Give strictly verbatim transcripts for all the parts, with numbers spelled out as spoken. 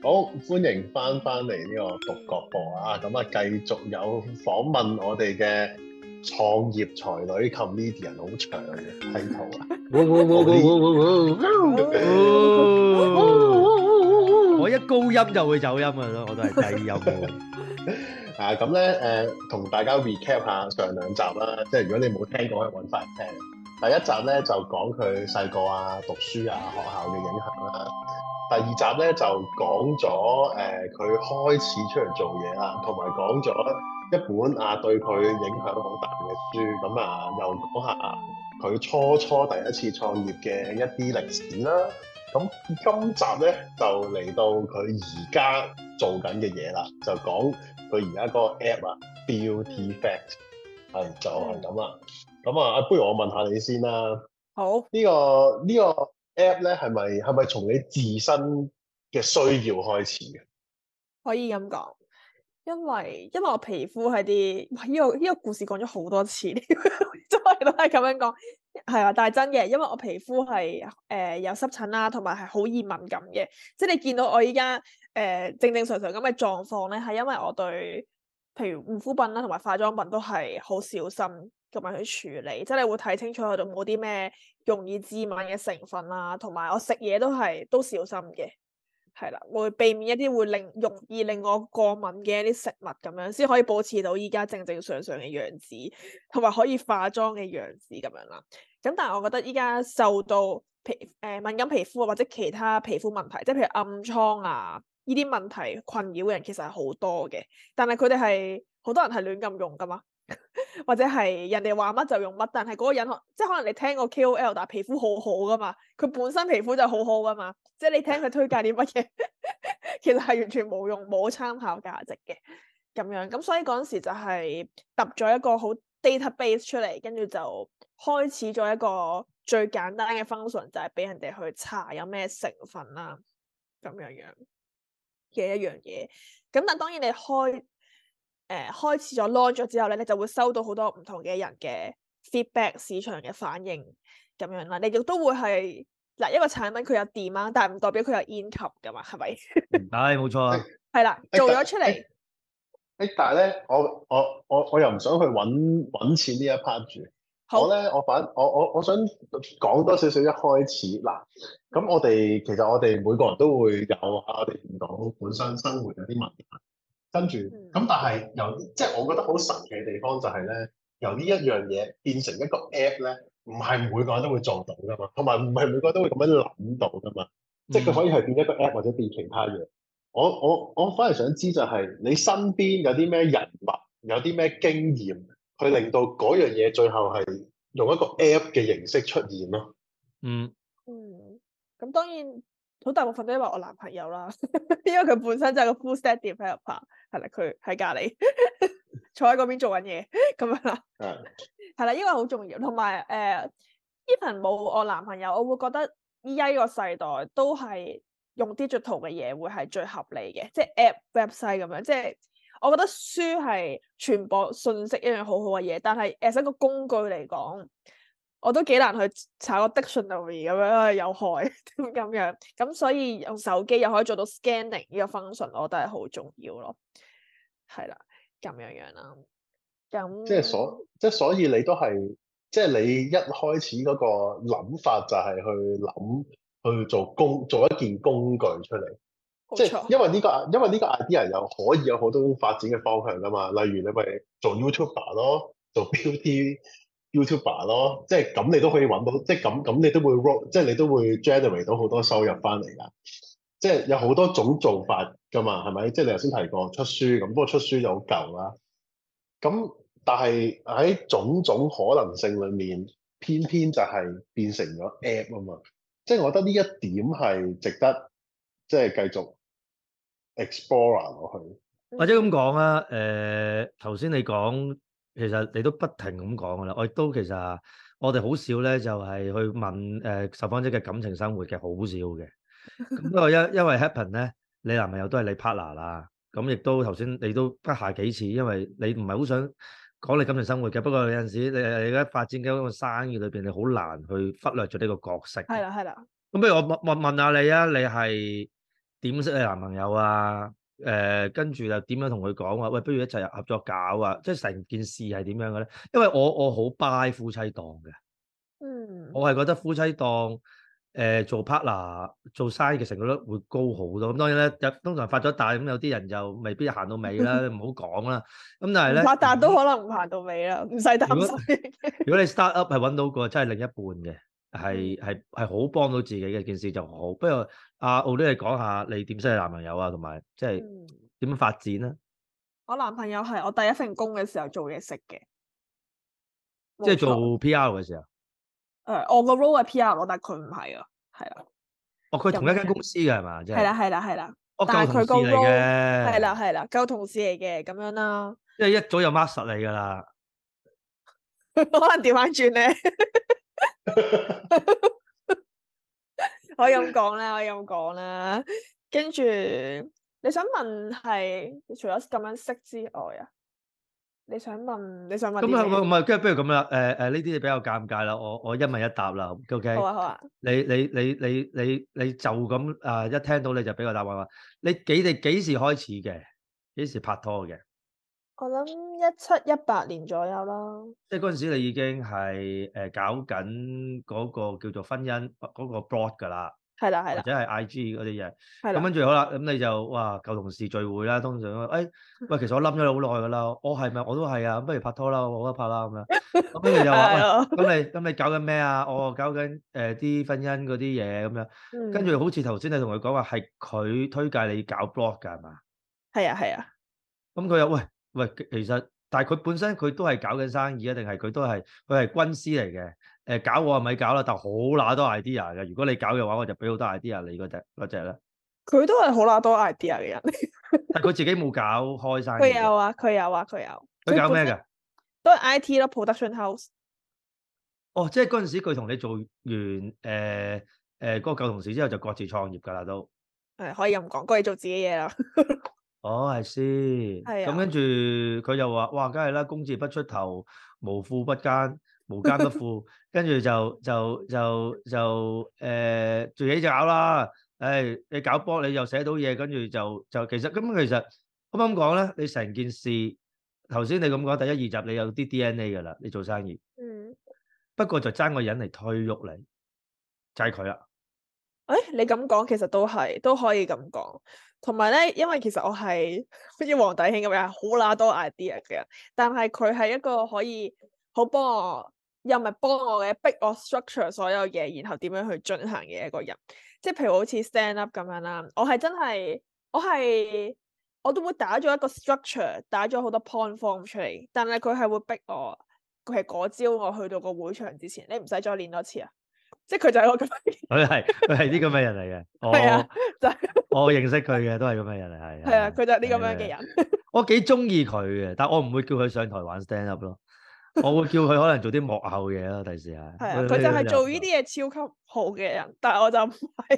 好，歡迎翻翻嚟呢個獨角播啊！咁啊，繼續有訪問我哋嘅創業才女 comedian， 好長嘅 title 啊！ 我一高音就會走音噶咯，我都係低音喎。 啊，咁咧誒，同大家 recap 下上兩集啦，即係如果你冇聽過，可以揾翻嚟聽。第一集咧就講佢細個啊、讀書啊、學校嘅影響啦。第二集咧就講咗誒佢開始出嚟做嘢啦，同埋講咗一本啊對佢影響好大嘅書，咁啊又講下佢初初第一次創業嘅一啲歷史啦。咁今集咧就嚟到佢而家做緊嘅嘢啦，就講佢而家嗰個 app 啊 Beauty Fact 係就係咁啦。咁啊，不如我問下你先啦。 好， 呢個呢個 app 咧係咪係咪從你自身嘅需要開始嘅？ 可以咁講，因為因為我皮膚係啲，呢個呢個故事講咗好多次，周圍都係咁樣講，係啊，但係真嘅，因為我皮膚係誒有濕疹啦，同埋係好易敏感嘅，即係你見到我依家誒正正常常咁嘅狀況咧，係因為我對譬如護膚品啦同埋化妝品都係好小心咁樣去處理，即係你會睇清楚佢度冇啲咩容易致敏嘅成分啦，同埋我食嘢都係都小心嘅。係啦，會避免一啲會令容易令我過敏嘅一啲食物咁樣，先可以保持到依家正正常常嘅樣子，同埋可以化妝嘅樣子咁樣啦。咁但係我覺得依家受到皮誒、呃、敏感皮膚或者其他皮膚問題，即係譬如暗瘡啊呢啲問題困擾嘅人其實係好多嘅，但係佢哋係好多人係亂咁用噶嘛。或者係人哋話乜就用乜，但係嗰個人即係可能你聽過 K O L，但係皮膚好好噶嘛，佢本身皮膚就好好噶嘛，即係你聽佢推介啲乜嘢，其實係完全冇用冇參考價值嘅咁樣，咁所以嗰陣時就係揼咗一個好 database 出嚟，跟住就開始咗一個最簡單嘅 function，就係俾人哋去查有咩成分啦，咁樣樣嘅一樣嘢。咁但當然你開誒、呃、開始咗 launch 咗之後咧，你就會收到好多唔同嘅人嘅 feedback、市場嘅反應咁樣啦。你亦都會係嗱一個產品佢有 demand，但係唔代表佢有 income 噶嘛，係咪？ 係冇錯啊。 係啦，做咗出嚟。誒、 欸，但係咧，我我我我又唔想去揾揾錢呢一 part 住。好我咧，我反我我我想講多少少一開始嗱。咁我哋其實我哋每個人都會有我哋唔到本身生活有啲問題。跟住，咁、嗯、但係由即係我覺得好神奇嘅地方就係咧，由呢一樣嘢變成一個 app 咧，唔係每個人都會做到噶嘛，同埋唔係每個人都會咁樣諗到噶嘛，嗯、即係佢可以係變一個 app 或者變其他嘢。我我我反而想知就係你身邊有啲咩人物，有啲咩經驗，去令到嗰樣嘢最後係用一個 app 嘅形式出現咯。 嗯嗯，咁當然。好大部分都因為我男朋友啦，因為佢本身就係個 full stack developer，係啦，佢喺隔離坐喺嗰邊做緊嘢咁樣啦，係啦，呢個好重要。同埋誒，even 冇我男朋友，我會覺得依家呢個世代都係用 digital 嘅嘢會係最合理嘅，即係 app website 咁樣。即係我覺得書係傳播信息一樣好好嘅嘢，但係 as 一個工具嚟講。我都幾難去查個 dictionary 咁樣，有害咁樣，咁所以用手機又可以做到 scanning 呢個 function，我覺得係好重要咯。係啦，咁樣樣啦。咁即係所即係所以你都係即係你一開始嗰個諗法就係去諗去做工做一件工具出嚟， 冇錯。 即係因為呢個因為呢個 idea 又可以有好多發展嘅方向噶嘛，例如你咪做 YouTuber 咯，做 beauty YouTuber 咯，即係咁你都可以揾到，即係咁咁你都會 roll，即係你都會 generate 到好多收入翻嚟噶。即係有好多種做法噶嘛，係咪？即係你頭先提過出書咁，不過出書就好舊啦。咁但係喺種種可能性裏面，偏偏就係變成咗 app 啊嘛。即係我覺得呢一點係值得即係繼續 explore 落去。 或者咁講啊，誒頭先你講。其實你都不停咁講噶啦，我亦都其實我哋好少咧，就係去問誒受訪者嘅感情生活嘅，好少嘅。咁不過因因為 happen 咧，你男朋友都係你 partner 啦，咁亦都頭先你都不下幾次，因為你唔係好想講你感情生活嘅。不過有陣時你你而家發展緊一個生意裏邊，你好難去忽略咗呢個角色。 係啦係啦。 咁不如我問問問下你啊，你係點識你男朋友啊？誒、呃，跟住又點樣同佢講話？喂，不如一齊合作搞啊！即係成件事係點樣嘅咧？因為我我好 buy 夫妻檔嘅， 嗯， 我係覺得夫妻檔誒、呃、做 partner 做生意嘅成功率會高好多。咁當然咧，通常發咗達咁有啲人就未必行到尾啦，唔好講啦。咁但係咧， 發達都可能唔行到尾啦，唔使擔心。 如果你 start up 係揾到個真係另一半嘅，係係係好幫到自己嘅件事就好。不如阿奧利你講下你點識你男朋友啊，同埋即係點樣發展咧？ 我男朋友係我第一份工嘅時候做嘢識嘅， 即係做 P R 嘅時候。 誒，我個 role 係 P R 咯，但係佢唔係啊，係啊。 哦，佢同一間公司嘅係嘛？即係。係啦，係啦，係啦。 哦，舊同事嚟嘅。 係啦，係啦，舊同事嚟嘅咁樣啦。 即係一早就 mark 實你㗎啦。 可能調翻轉咧。可以咁講啦，可以咁講啦。跟住你想問係，除咗咁樣識之外啊？你想問，你想問咁啊，唔係，跟住不如咁啦。誒誒，呢啲嘢比較尷尬啦。我我一問一答啦。OK。 好啊，好啊。你你你你你你就咁啊！一聽到你就俾個答案話，你幾哋幾時開始嘅？幾時拍拖嘅？ 我諗一七一八年左右啦。 即係嗰陣時，你已經係誒搞緊嗰個叫做婚姻嗰個 blog 㗎啦。 係啦，係啦。 或者係 I G 嗰啲嘢。 係啦。咁跟住好啦，咁你就哇舊同事聚會啦，通常誒喂，其實我冧咗你好耐㗎啦。我係咪我都係啊？咁不如拍拖啦，我覺得拍啦咁樣。咁跟住就話喂，咁你咁你搞緊咩啊？我搞緊誒啲婚姻嗰啲嘢咁樣。跟住好似頭先你同佢講話係佢推介你搞 blog 㗎係嘛？ 係啊，係啊。 咁佢又喂喂，其實但係佢本身佢都係搞緊生意啊，定係佢都係佢係軍師嚟嘅？誒搞我係咪搞啦？但係好乸多 idea 嘅。如果你搞嘅話，我就俾好多 idea 你嗰隻嗰隻咧。 佢都係好乸多 idea 嘅人。 但係佢自己冇搞開生意。 佢有啊，佢有啊，佢有。 佢搞咩㗎？ 都係 I T 咯 ，production house。 哦，即係嗰陣時佢同你做完誒誒嗰個舊同事之後，就各自創業㗎啦都。 係可以咁講，過嚟做自己嘢啦。 哦，係先。係啊。咁跟住佢就話：哇，梗係啦，工字不出頭，無富不奸，無奸不富。跟住就就就就誒自己就搞啦。誒，你搞波你又寫到嘢，跟住就就其實咁其實啱啱講咧，你成件事頭先你咁講第一二集你有啲 D N A 㗎啦，你做生意。嗯。不過就爭個人嚟推喐你，就係佢啦。 誒，你咁講其實都係都可以咁講。同埋咧，因為其實我係好似黃弟兄咁樣，好乸多 idea 嘅人，但係佢係一個可以好幫我，又唔係幫我嘅，逼我 structure 所有嘢，然後點樣去進行嘅一個人。即係譬如好似 stand up 咁樣啦，我係真係，我係我都會打咗一個 structure，打咗好多 point form 出嚟，但係佢係會逼我，佢係嗰朝我去到個會場之前，你唔使再練多次啊！即係佢就係我咁樣， 佢係佢係啲咁嘅人嚟嘅。我係啊，就係我認識佢嘅，都係咁嘅人嚟，係。 係啊，佢就係啲咁樣嘅人。 我幾中意佢嘅，但我唔會叫佢上台玩 stand up 咯。我會叫佢可能做啲幕後嘢咯，第時係。係啊，佢就係做呢啲嘢超級好嘅人，但係我就唔係。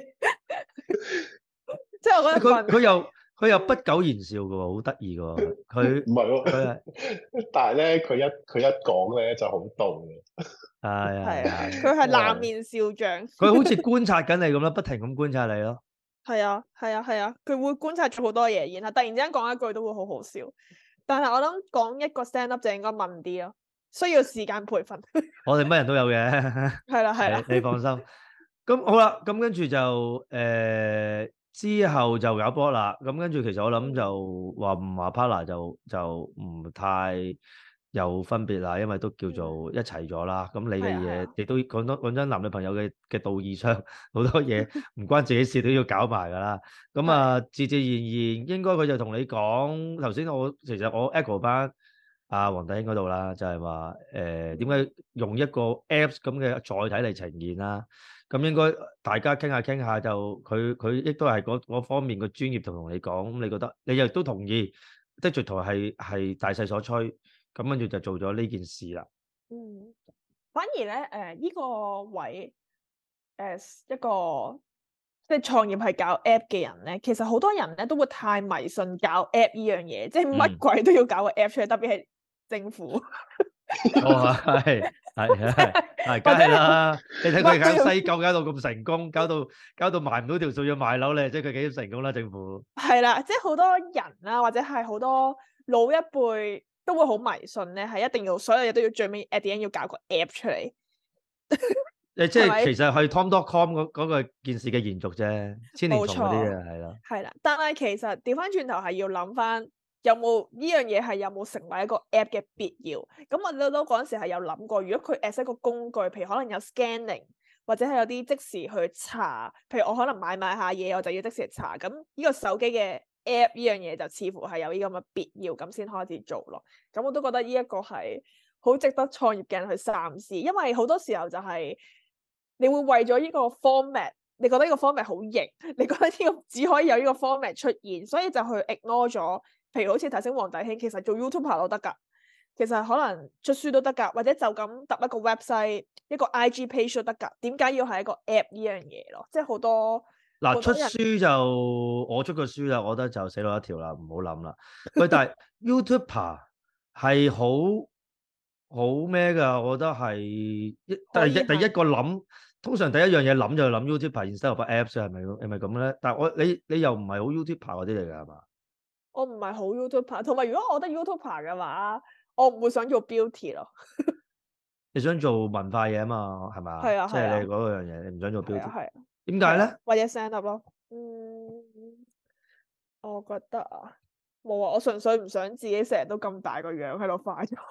即係我覺得佢佢又佢又不苟言笑嘅喎，好得意嘅喎。佢唔係喎， 佢係， 但係咧，佢一佢一講咧就好凍嘅。 係係啊，佢係冷面笑匠。 佢好似觀察緊你咁咯，不停咁觀察你咯。 係啊，係啊，係啊，佢會觀察咗好多嘢，然後突然之間講一句都會好好笑。但係我諗講一個 stand up 就應該問啲咯，需要時間培訓。 我哋乜人都有嘅。 係啦，係啦， 你放心。咁好啦，咁跟住就誒、呃、之後就搞波啦。咁跟住其實我諗就話唔話 partner 就就唔太有分別啦，因為都叫做一齊咗啦。咁、嗯、你嘅嘢亦都講多講真，男女朋友嘅嘅道義上好多嘢唔關自己事都要搞埋㗎啦。咁啊，自自然然應該佢就同你講頭先，我其實我 echo 翻阿黃弟兄嗰度啦，就係話誒點解用一個 Apps 咁嘅載體嚟呈現啦。咁應該大家傾下傾下就佢佢亦都係嗰方面嘅專業同同你講，咁你覺得你又都同意 Digital 係係大勢所趨，咁跟住就做咗呢件事啦。 嗯，反而咧誒呢、呃呢個位誒、呃、一個即係創業係搞 app 嘅人咧，其實好多人咧都會太迷信搞 app 呢樣嘢，即係乜鬼都要搞個 app 出嚟，特別係政府。 哦係。 係係係，梗係啦！你睇佢搞西九搞到咁成功，搞到搞到賣唔到條數要賣樓咧，即係佢幾成功啦？政府係啦，即係好多人啦，或者係好多老一輩都會好迷信咧，係一定要所有嘢都要最尾 at the end 要搞個 app 出嚟。 誒，即係其實係 Tom dot com 嗰嗰個件事嘅延續啫，千年蟲嗰啲嘢係啦。係啦，但係其實調翻轉頭係要諗翻。有冇呢樣嘢係有冇成為一個 app 嘅必要？咁我都都嗰陣時係有諗過，如果佢 as 一個工具，譬如可能有 scanning，或者係有啲即時去查，譬如我可能買買下嘢，我就要即時查。咁呢個手機嘅 app 呢樣嘢就似乎係有呢咁嘅必要，咁先開始做咯。咁我都覺得呢一個係好值得創業嘅人去三思，因為好多時候就係你會為咗呢個 format， 你覺得呢個 format 好型，你覺得呢個只可以有呢個 format 出現，所以就去 ignore 咗。譬如好似頭先黃大興，其實做 YouTuber 都得㗎，其實可能出書都得㗎，或者就咁揼一個 website、一個 I G page 都得㗎。點解要係一個 app 呢樣嘢咯？即係好多嗱，出書就我出個書啦，我覺得就死路一條啦，唔好諗啦。喂，但係 YouTuber 係好好咩㗎？我覺得係一第一第一個諗，通常第一樣嘢諗就係諗 YouTuber instead of apps 係咪係咪咁咧？但係我你你又唔係好 YouTuber 嗰啲嚟㗎係嘛？ 我唔係好 YouTuber， 同埋如果我覺得 YouTuber 嘅話，我唔會想做 beauty 咯。 你想做文化嘢啊嘛，係嘛？ 係啊， 即係你嗰樣嘢，你唔想做 beauty。 係啊。 點解咧？ 或者 stand up 咯。嗯，我覺得啊，冇啊，我純粹唔想自己成日都咁大個樣喺度化妝。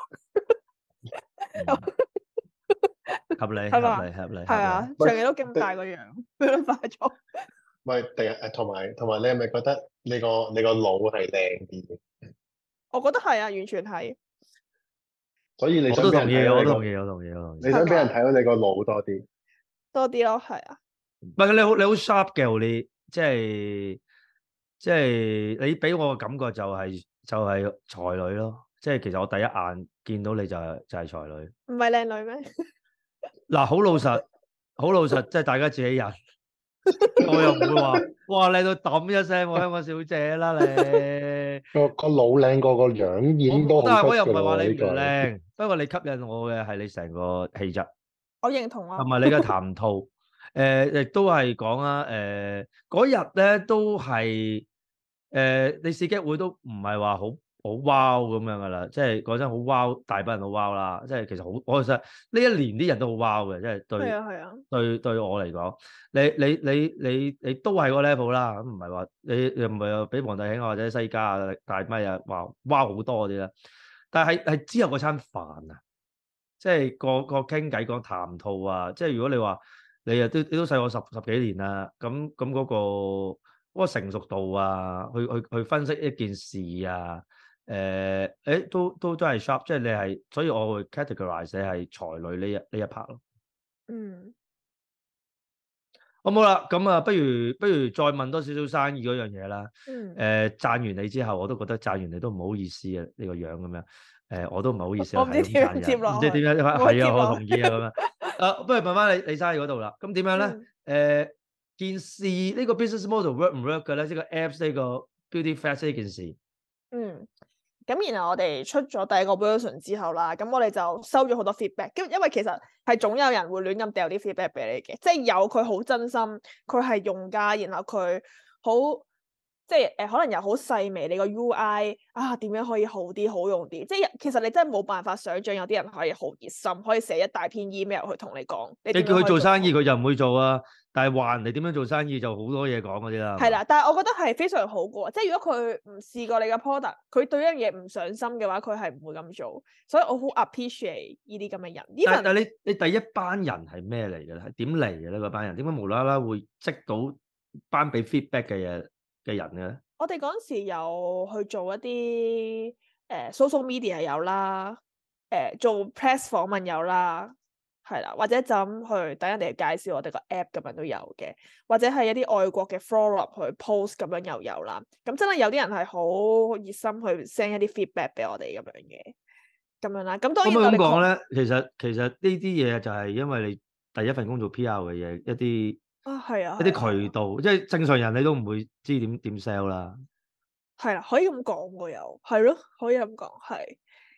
合理， 係嘛？ 合理，合理。 係啊，長期都咁大個樣喺度化妝。 唔係，第日誒，同埋同埋，你係咪覺得你個你個腦係靚啲嘅？ 我覺得係啊，完全係。 所以你我都同意，我都同意，我同意，我同意。 你想俾人睇到你個腦多啲， 多啲咯，係啊。 唔係你好，你好 sharp 嘅，你即係即係你俾我嘅感覺就係就係才女咯。即係其實我第一眼見到你就係就係才女。 唔係靚女咩？ 嗱，好老實，好老實，即係大家自己人。我又唔會話，哇靚到揼一聲，我香港小姐啦你。 個個腦靚過個樣已經都好出㗎啦。 我又唔係話你唔靚，不過你吸引我嘅係你成個氣質。 我認同啊。 同埋你嘅談吐，誒亦都係講啊，誒嗰日咧都係誒你試機會都唔係話好好 wow 咁樣噶啦，即係講真好 wow，大把人好 wow 啦，即係其實好，我其實呢一年啲人都好 wow 嘅，即係對係啊係啊， 對對我嚟講，你你你你你都係個 level 啦，咁唔係話你又唔係話比黃大興或者西家啊大咪啊話 wow 好多嗰啲啦，但係係之後嗰餐飯啊，即係個個傾偈講談吐啊，即係如果你話你啊都你都細我十十幾年啦，咁咁嗰個嗰個成熟度啊，去去去分析一件事啊。誒，誒，都都都係 sharp，即係你係，所以我會 categorize 你係才女呢一呢一 part 咯。 嗯， 好冇啦，咁啊，不如不如再問多少少生意嗰樣嘢啦。 嗯。 誒，讚完你之後，我都覺得讚完你都唔好意思啊，呢個樣咁樣。誒，我都唔好意思啊， 我唔知點樣接落， 唔知點樣，係啊，我同意啊咁樣。啊，不如問翻你你生意嗰度啦。咁點樣咧？誒，件事呢個 business model work 唔 work 嘅咧？即係個 apps 呢個 Beauty Fest 呢件事。 嗯。咁然後我哋出咗第一個 version 之後啦，咁我哋就收咗好多 feedback，因因為其實係總有人會亂咁掉啲 feedback 俾你嘅，即係有佢好真心，佢係用家，然後佢好即係誒、呃、可能又好細微，你個 U I 啊點樣可以好啲好用啲，即係其實你真係冇辦法想像有啲人可以好熱心，可以寫一大篇 email 去同你講。你你叫佢做生意，佢就唔會做啊。但係話人哋點樣做生意就好多嘢講嗰啲啦。 係啦，但係我覺得係非常好嘅，即係如果佢唔試過你嘅 product，佢對一樣嘢唔上心嘅話，佢係唔會咁做。所以我好 appreciate 呢啲咁嘅人。 但但係你你第一班人係咩嚟嘅咧？係點嚟嘅咧？嗰班人點解無啦啦會積到班俾 feedback 嘅嘢嘅人嘅咧？ 我哋嗰陣時有去做一啲誒、呃、social media 有啦，誒、呃、做 press 訪問有啦。係啦，或者就咁去等人哋介紹我哋個 app 咁樣都有嘅，或者係一啲外國嘅 forum 去 post 咁樣又有啦。咁真係有啲人係好熱心去 send 一啲 feedback 俾我哋咁樣嘅，咁樣啦。咁當然我咁講咧，其實其實呢啲嘢就係因為你第一份工做 P R 嘅嘢，一啲啊係啊， 一啲渠道，即係正常人你都唔會知點點 sell 啦。 係啦，可以咁講嘅又係咯，可以咁講係。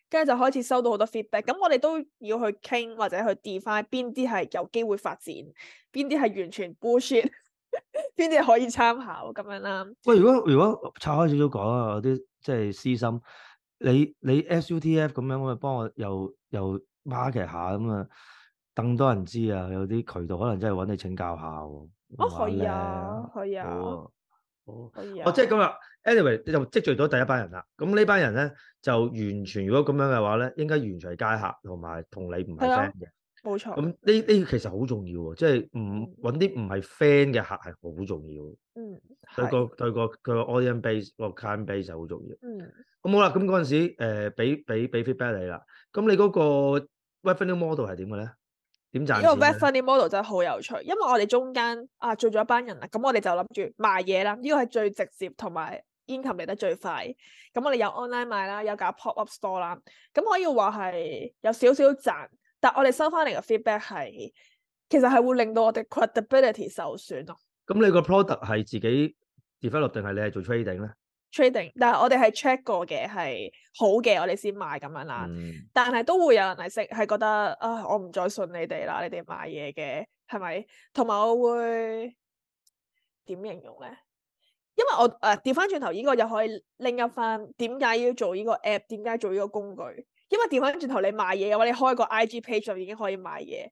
跟住就開始收到好多 feedback。咁我哋都要去傾或者去 define 邊啲係有機會發展，邊啲係完全 bullshit，邊啲係可以參考咁樣啦。 喂，如果如果拆開少少講啊，有啲即係私心，你你 S U T F 咁樣，咁啊幫我又又 market 下咁啊，更多人知啊，有啲渠道可能真係揾你請教下喎。 哦，可以啊，可以啊。 好。哦， 可以啊。 哦，即係咁啦。Anyway，你就積聚咗第一班人啦。咁呢班人咧就完全，如果咁樣嘅話咧，應該完全係街客，同埋同你唔係 friend 嘅。 冇錯。 咁呢呢其實好重要喎，即係唔揾啲唔係 friend 嘅客係好重要。 嗯， 對個對個佢個 audience base 個 client base 就好重要。 嗯。 咁好啦，咁嗰陣時誒俾俾俾 feedback 你啦。咁你嗰個 revenue model 係點嘅咧？點賺錢？ 呢個 revenue model 真係好有趣，因為我哋中間啊做咗一班人啦，咁我哋就諗住賣嘢啦，呢個係最直接同埋 income 嚟得最快。咁我哋有 online 賣啦，有搞 pop up store 啦，咁可以話係有少少賺，但我哋收翻嚟嘅 feedback 係其實係會令到我哋 credibility 受損咯。 咁你個 product 係自己 develop 定係你係做 trading 咧？ trading，但係我哋係 check 過嘅係好嘅，我哋先買咁樣啦。嗯、但係都會有人係識係覺得啊，我唔再信你哋啦，你哋買嘢嘅係咪？同埋我會點形容咧？因為我誒調翻轉頭，呢、呃、個又可以拎一翻點解要做呢個 app，點解做呢個工具？因為調翻轉頭你賣嘢嘅話，你開個 I G page 就已經可以賣嘢，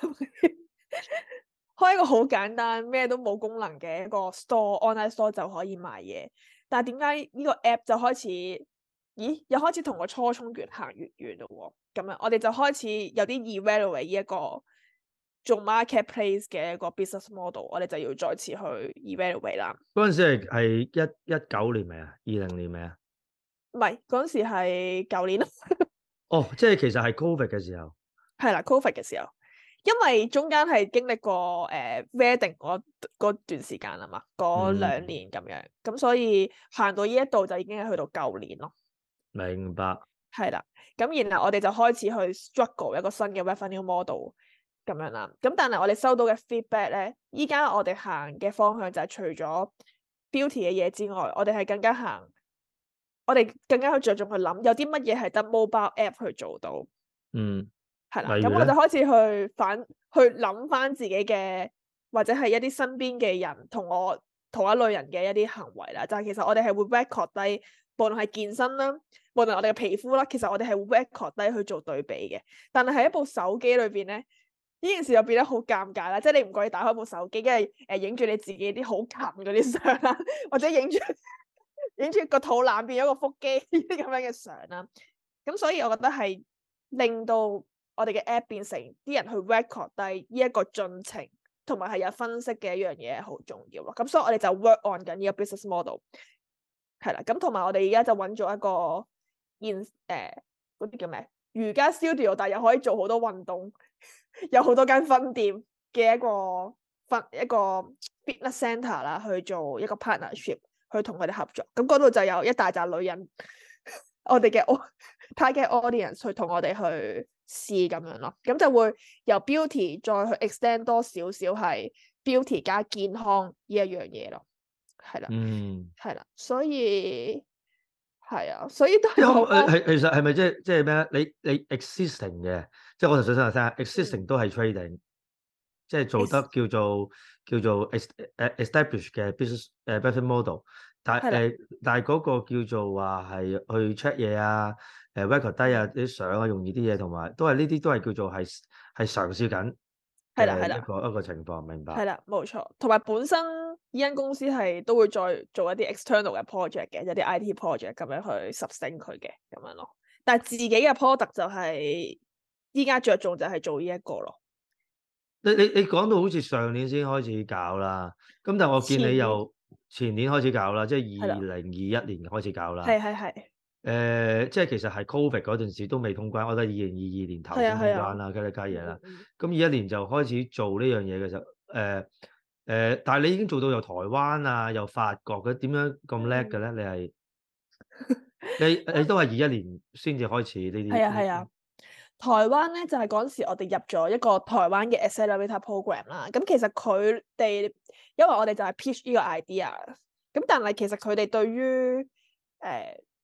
開一個好簡單咩都冇功能嘅一個 store online store 就可以賣嘢。但係點解呢個 app 就開始，咦？又開始同個初衷越行越遠咯喎！咁樣我哋就開始有啲 evaluate 呢一個做 marketplace 嘅一個 business model，我哋就要再次去 evaluate 啦。 嗰陣時係係一一九年未啊？二零年未啊？ 唔係，嗰陣時係舊年咯。 哦，即係其實係 Covid 嘅時候。 係啦，Covid 嘅時候。因為中間係經歷過誒、呃、wedding 嗰段時間啊嘛，嗰兩年咁樣，咁、嗯、所以行到呢一度就已經係去到舊年咯。 明白。係啦，咁然後我哋就開始去 struggle 一個新嘅 revenue model 咁樣啦。咁但係我哋收到嘅 feedback 咧，依家我哋行嘅方向就係除咗 beauty 嘅嘢之外，我哋係更加行，我哋更加去着重去諗有啲乜嘢係得 mobile app 去做到。 嗯。 係啦，咁我就開始去反去諗翻自己嘅，或者係一啲身邊嘅人同我同一類人嘅一啲行為啦。就係其實我哋係會 record 低，無論係健身啦，無論我哋嘅皮膚啦，其實我哋係會 record 低去做對比嘅。但係喺一部手機裏邊咧，呢件事就變得好尷尬啦。即係你唔可以打開部手機，跟住誒影住你自己啲好近嗰啲相啦，或者影住影住個肚腩變咗個腹肌呢啲咁樣嘅相啦。咁所以我覺得係令到我哋嘅 app 變成啲人去 record 低呢一個進程，同埋係有分析嘅一樣嘢好重要咯。咁所以我哋就 work on 緊呢個 business model， 係啦。咁同埋我哋而家就揾咗一個現誒嗰啲叫咩瑜伽 studio， 但係又可以做好多運動，有好多間分店嘅一個分一個 fitness center 啦，去做一個 partnership， 去同佢哋合作。咁嗰度就有一大扎女人，我哋嘅 target audience 去同我哋去試咁樣咯，咁就會由 beauty 再去 extend 多少少係 beauty 加健康呢一樣嘢咯，係啦， 嗯， 係啦，所以係啊，所以都係係其實係咪即係即係咩咧？你你 existing 嘅，即係我頭先想話聽 existing 都係 trading，即係做得叫做叫做 establish 嘅 business 誒 business model，但係誒但係嗰個叫做話係去 check 嘢啊。誒 record 低啊啲相啊，容易啲嘢，同埋都係呢啲都係叫做係係嘗試緊， 係啦係啦一個一個情況，明白？ 係啦，冇錯。同埋本身呢間公司係都會再做一啲 external 嘅 project 嘅，有啲 I T project 咁樣去 sustain 佢嘅咁樣咯。但係自己嘅 product 就係依家着重就係做呢一個咯。 你你你講到好似上年先開始搞啦，咁但係我見你又前年開始搞啦，即係二零二一年開始搞啦。 係係係。 誒、呃，即係其實係 Covid 嗰陣時都未通關，我覺得二零二二年頭先通關啦，跟住加嘢啦。咁二一年就開始做呢樣嘢嘅時候，誒、呃、誒、呃，但係你已經做到由台灣啊，由法國嘅，點樣咁叻嘅咧？你係你你都係二一年先至開始呢啲。係啊係啊， 台灣咧就係嗰陣時我哋入咗一個台灣嘅 accelerator program 啦。咁其實佢哋因為我哋就係 pitch 呢個 idea，咁但係其實佢哋對於誒。呃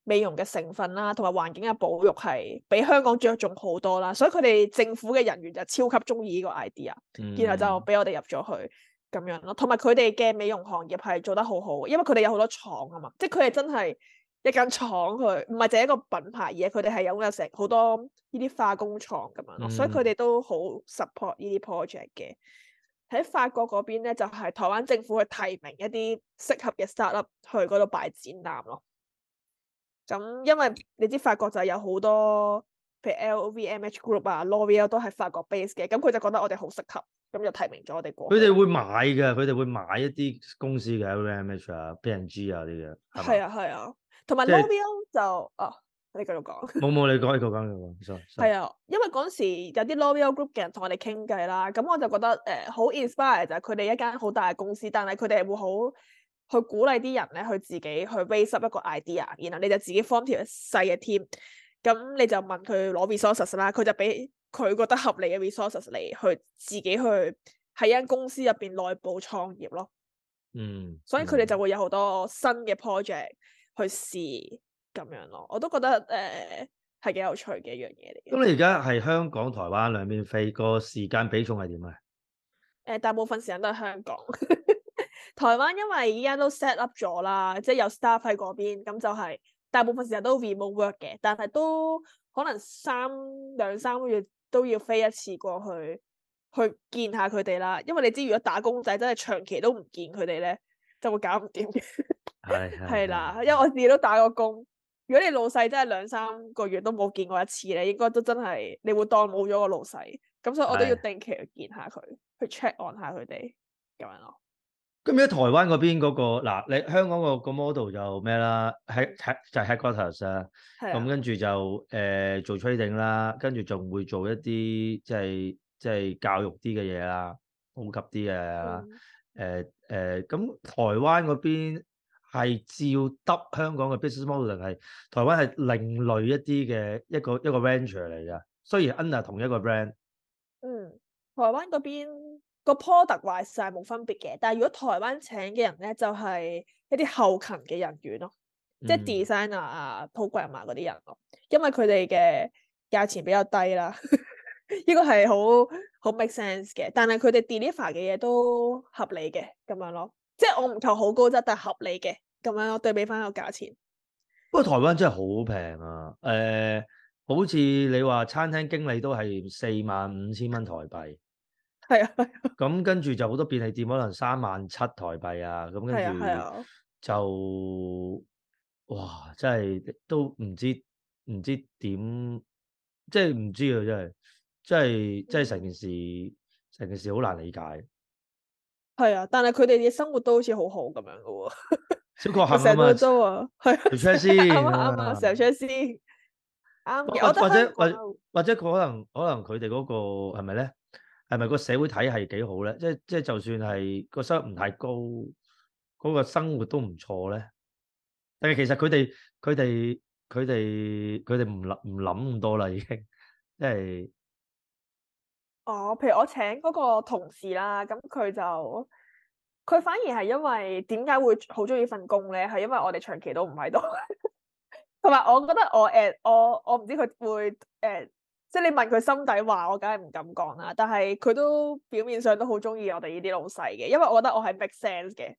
美容嘅成分啦，同埋環境嘅保育係比香港着重好多啦，所以佢哋政府嘅人員就超級中意呢個 idea，嗯、然後就俾我哋入咗去咁樣咯。同埋佢哋嘅美容行業係做得好好，因為佢哋有好多廠啊嘛，即係佢哋真係一間廠去，唔係淨係一個品牌，而係佢哋係擁有成好多呢啲化工廠咁樣咯，嗯、所以佢哋都好 support 呢啲 project 嘅。喺法國嗰邊咧，就係、是、台灣政府去提名一啲適合嘅 startup 去嗰度擺展覽咯。咁因為你知法國就有好多，譬如 L V M H Group 啊、L'Oreal 都係法國 base 嘅，咁佢就覺得我哋好適合，咁就提名咗我哋過去。 佢哋會買嘅，佢哋會買一啲公司嘅 L V M H 啊、P and G 啊啲嘅。 係啊係啊，同埋 L'Oreal 就啊，你繼續講。冇冇，你講你講講講，sorry。 係啊，因為嗰陣時有啲 L'Oreal Group 嘅人同我哋傾偈啦，咁我就覺得誒好、呃、inspire 就係佢哋一間好大嘅公司，但係佢哋會好去鼓勵啲人咧，去自己去 raise up 一個 idea，然後你就自己 form 條細嘅 team，咁你就問佢攞 resources 啦，佢就俾佢覺得合理嘅 resources 嚟去自己去喺間公司入邊內部創業咯。 嗯， 所以佢哋就會有好多新嘅 project 去試咁樣咯。我都覺得誒係幾有趣嘅一樣嘢嚟嘅。 咁你而家係香港、台灣兩邊飛，個時間比重係點啊？誒、 呃，大部分時間都係香港。台灣因為依家都 set up 咗啦，即係有 staff 喺嗰邊，咁就係大部分時間都 remote work 嘅，但係都可能三兩三個月都要飛一次過去，去見下佢哋啦。因為你知如果打工仔真係長期都唔見佢哋咧，就會搞唔掂嘅。係係啦，因為我自己都打過工。如果你老細真係兩三個月都冇見過一次咧，應該都真係你會當冇咗個老細。咁所以我都要定期去見下佢，去 check on 下佢哋咁樣咯。 咁而家台灣嗰邊嗰個嗱，你香港個個 model 就咩啦？喺喺就係 headquarters 啊，咁跟住就誒做 trading 啦，跟住仲會做一啲即係即係教育啲嘅嘢啦，普及啲嘅啦。誒誒，咁台灣嗰邊係照得香港嘅 business model 定係台灣係另類一啲嘅一個一個 venture 嚟㗎？雖然 under 同一個 brand。嗯， 台灣嗰邊個 product wise 係冇分別嘅，但係如果台灣請嘅人咧，就係、是、一啲後勤嘅人員咯，嗯、即係 designer 啊、program 啊嗰啲人咯，因為佢哋嘅價錢比較低啦，呢個係好好 make sense 嘅，但係佢哋 deliver 嘅嘢都合理嘅咁樣咯，即係我唔求好高質，但係合理嘅咁樣，我對比翻個價錢。 不過台灣真係好平啊，誒、呃。好似你話餐廳經理都係四萬五千蚊台幣， 係啊， 咁跟住就好多便利店可能三萬七台幣啊，咁跟住就哇，真係都唔知唔知點，即係唔知啊，真係，真係真係成件事成件事好難理解。 係啊，但係佢哋嘅生活都好似好好咁樣噶喎， 小確幸啊嘛， 成日都租啊，係啊， 條車先， 啱啊啱啊，成日車先。 或者或者或或者可能可能佢哋嗰個係咪咧？係咪個社會體系幾好咧？即係即係就算係個收入唔太高，嗰個生活都唔錯咧。但係其實佢哋佢哋佢哋佢哋唔諗唔諗咁多啦，已經即係。 哦，譬如我請嗰個同事啦，咁佢就佢反而係因為點解會好中意份工咧？係因為我哋長期都唔喺度。同埋，我覺得我誒、呃、我我唔知佢會誒、呃，即係你問佢心底話，我梗係唔敢講啦。但係佢都表面上都好中意我哋呢啲老細嘅，因為我覺得我係 make sense 嘅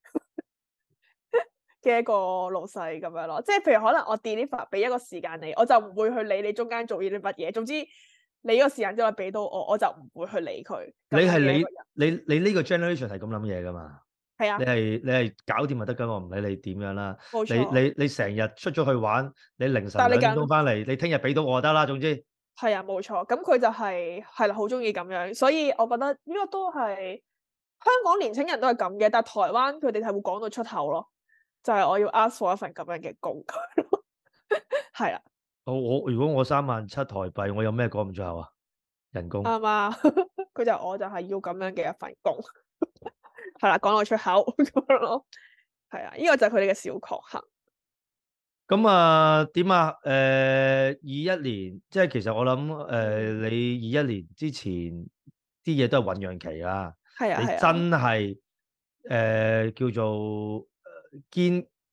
嘅一個老細咁樣咯。即係譬如可能我 deliver 俾一個時間你，我就唔會去理你中間做呢啲乜嘢。總之你呢個時間之內俾到我，我就唔會去理佢。 你係你你你呢個 generation 係咁諗嘢噶嘛？ 係啊， 你係你係搞掂就得噶，我唔理你點樣啦。 冇錯。 你你你成日出咗去玩，你凌晨兩點鐘翻嚟，你聽日俾到我就得啦。總之係啊，冇錯。咁佢就係係啦，好中意咁樣，所以我覺得呢個都係香港年輕人都係咁嘅，但係台灣佢哋係會講到出口咯，就係、是、我要 ask for 一份咁樣嘅工，係啦。 我我如果我三萬七台幣，我有咩講唔出口啊？人工啱啊，佢就我就係要咁樣嘅一份工。係啦，講到出口咁樣咯，係啊，呢個就係佢哋嘅小確幸。 咁啊，點啊？誒，二一年，即係其實我諗，誒、呃，你二一年之前啲嘢都係醞釀期啦。 係啊， 你真係誒、呃、叫做堅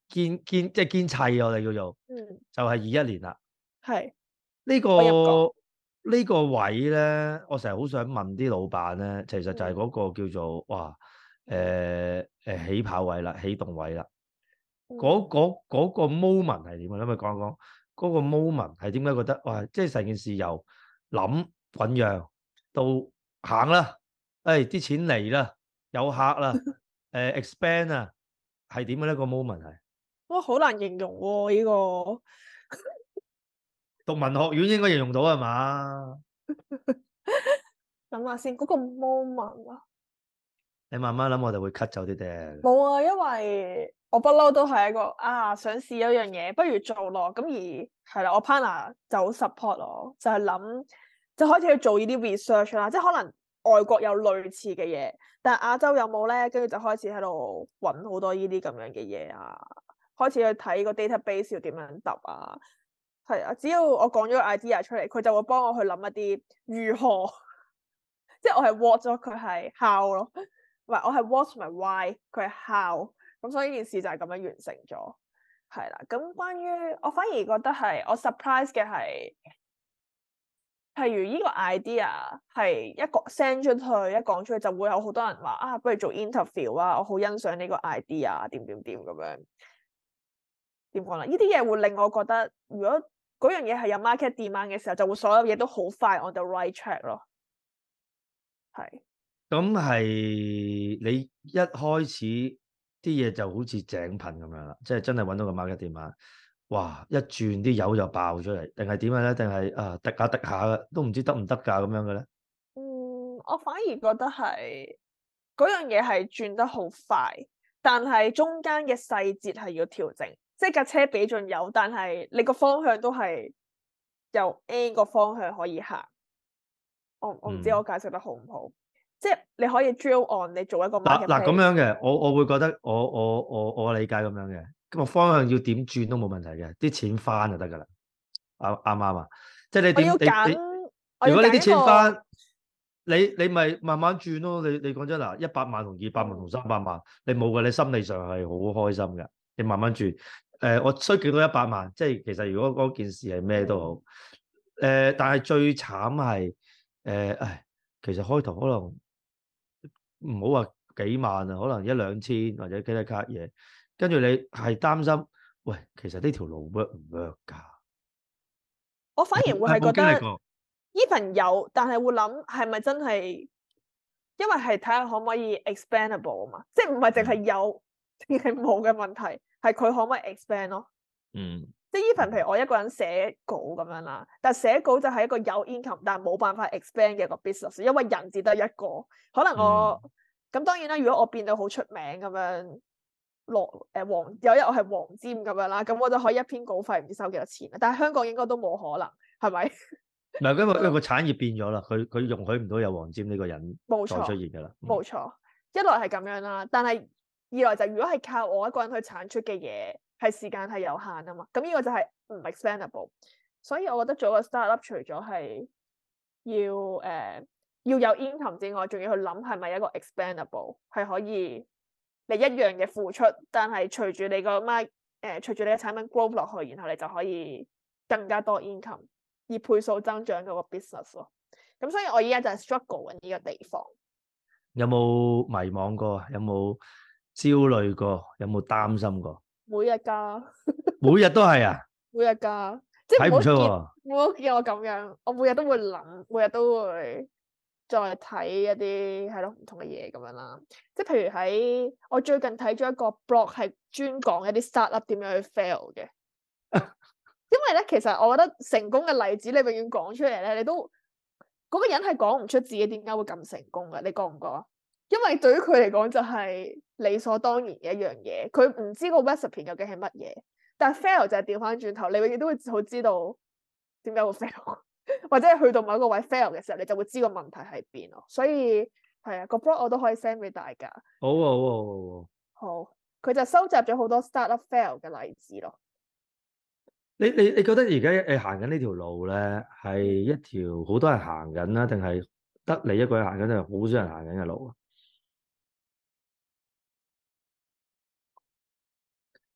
堅堅即係堅砌我哋叫做， 嗯， 就係二一年啦。 係呢我入過個呢個位咧，我成日好想問啲老闆咧，其實就係嗰個叫做哇誒誒起跑位啦，起動位啦。嗰嗰嗰個 moment 係點啊？你咪講講嗰個 moment 係點解覺得哇？即係成件事由諗醖釀到行啦，誒啲錢嚟啦，有客啦，誒 expand 啊，係點嘅咧？個 moment 係哇，好難形容喎呢個。 讀文學院應該形容到係嘛？ 諗下先，嗰個 moment 啊， 你慢慢諗，我就會 cut 走啲嘅。 冇啊，因為我不嬲都係一個啊想試一樣嘢，不如做咯。咁而係啦，我 partner 就好 support 我，就係諗就開始去做呢啲 research 啦。即係可能外國有類似嘅嘢，但係亞洲有冇咧？跟住就開始喺度揾好多呢啲咁樣嘅嘢啊，開始去睇個 database 要點樣揼啊。係啊，只要我講咗個 idea 出嚟，佢就會幫我去諗一啲如何，即係我係 what 咗，佢係 how 咯，唔係我係 what 同埋 why，佢係 how，咁所以呢件事就係咁樣完成咗，係啦。咁關於我反而覺得係我 surprise 嘅係，譬如呢個 idea 係一個 send 出去，一講出去就會有好多人話啊，不如做 interview 啊，我好欣賞呢個 idea，點點點咁樣，點講啦？呢啲嘢會令我覺得，如果嗰樣嘢係有 market demand 嘅時候，就會所有嘢都好快 on the right track 咯。係。 咁係你一開始啲嘢就好似井噴咁樣啦，即係真係揾到個 market demand，哇！一轉啲油就爆出嚟，定係點樣咧？定係啊滴下滴下嘅，都唔知得唔得㗎咁樣嘅咧？ 嗯，我反而覺得係嗰樣嘢係轉得好快，但係中間嘅細節係要調整。即係架車俾盡油，但係你個方向都係由 A 個方向可以行。我我唔知我解釋得好唔好？嗯、即係你可以 drill on 你做一個 market。 嗱嗱咁樣嘅，我我會覺得我我我我理解咁樣嘅，咁個方向要點轉都冇問題嘅，啲錢翻就得㗎啦。啱啱啱啊！即係你點你你，如果你啲錢翻，你你咪慢慢轉咯。你你講真嗱，一百萬同二百萬同三百萬，你冇嘅，你心理上係好開心嘅。你慢慢轉。誒、呃，我需幾多一百萬？即係其實如果嗰件事係咩都好，誒、呃，但係最慘係誒，誒，其實開頭可能唔好話幾萬啊，可能一兩千或者幾多卡嘢，跟住你係擔心，喂，其實呢條路 work 唔 work 㗎？ 我反而會係覺得呢份有，但係會諗係咪真係，因為係睇下可唔可以 expandable 啊嘛，即係唔係淨係有定係冇嘅問題。係佢可唔可以 expand 咯？ 嗯， 即係 even 譬如我一個人寫稿咁樣啦，但係寫稿就係一個有 income 但係冇辦法 expand 嘅一個 business，因為人只得一個。可能我咁、嗯、當然啦，如果我變到好出名咁樣落誒黃有一日我係黃霑咁樣啦，咁我就可以一篇稿費唔知收幾多錢。但係香港應該都冇可能，係咪？ 唔係因為因為個產業變咗啦，佢佢容許唔到有黃霑呢個人再出現㗎啦。冇錯， 冇錯，一來係咁樣啦，但係。二來就如果係靠我一個人去產出嘅嘢，係時間係有限啊嘛，咁呢個就係唔 expandable。所以我覺得做個 startup 除咗係要誒、呃、要有 income 之外，仲要去諗係咪一個 expandable，係可以你一樣嘅付出，但係隨住你個 market 誒隨住你嘅產品 grow 落去，然後你就可以更加多 income，以倍數增長嗰個 business 咯。咁所以我依家就係 struggle 緊呢個地方。 有冇迷惘過？有冇焦慮過？有冇擔心過？ 每日噶， 每日都係啊！ 每日噶，即係睇唔出喎。 唔好見我咁樣，我每日都會諗，每日都會再睇一啲係咯唔同嘅嘢咁樣啦。即係譬如喺我最近睇咗一個 blog 係專講一啲 startup 點樣去 fail 嘅。因為咧，其實我覺得成功嘅例子你永遠講出嚟咧，你都嗰、嗰個人係講唔出自己點解會咁成功嘅，你覺唔覺啊？因為對於佢嚟講就係理所當然嘅一樣嘢，佢唔知個 recipe 究竟係乜嘢，但係 fail 就係調翻轉頭，你永遠都會好知道點解會 fail，或者係去到某一個位 fail 嘅時候，你就會知個問題喺邊咯。所以係啊，個 blog 我都可以 send 俾大家。 好啊，好啊，好啊。 好，佢就收集咗好多 startup fail 嘅例子咯。 你你你覺得而家誒行緊呢條路咧，係一條好多人行緊啦，定係得你一個人行緊，定係好少人行緊嘅路啊？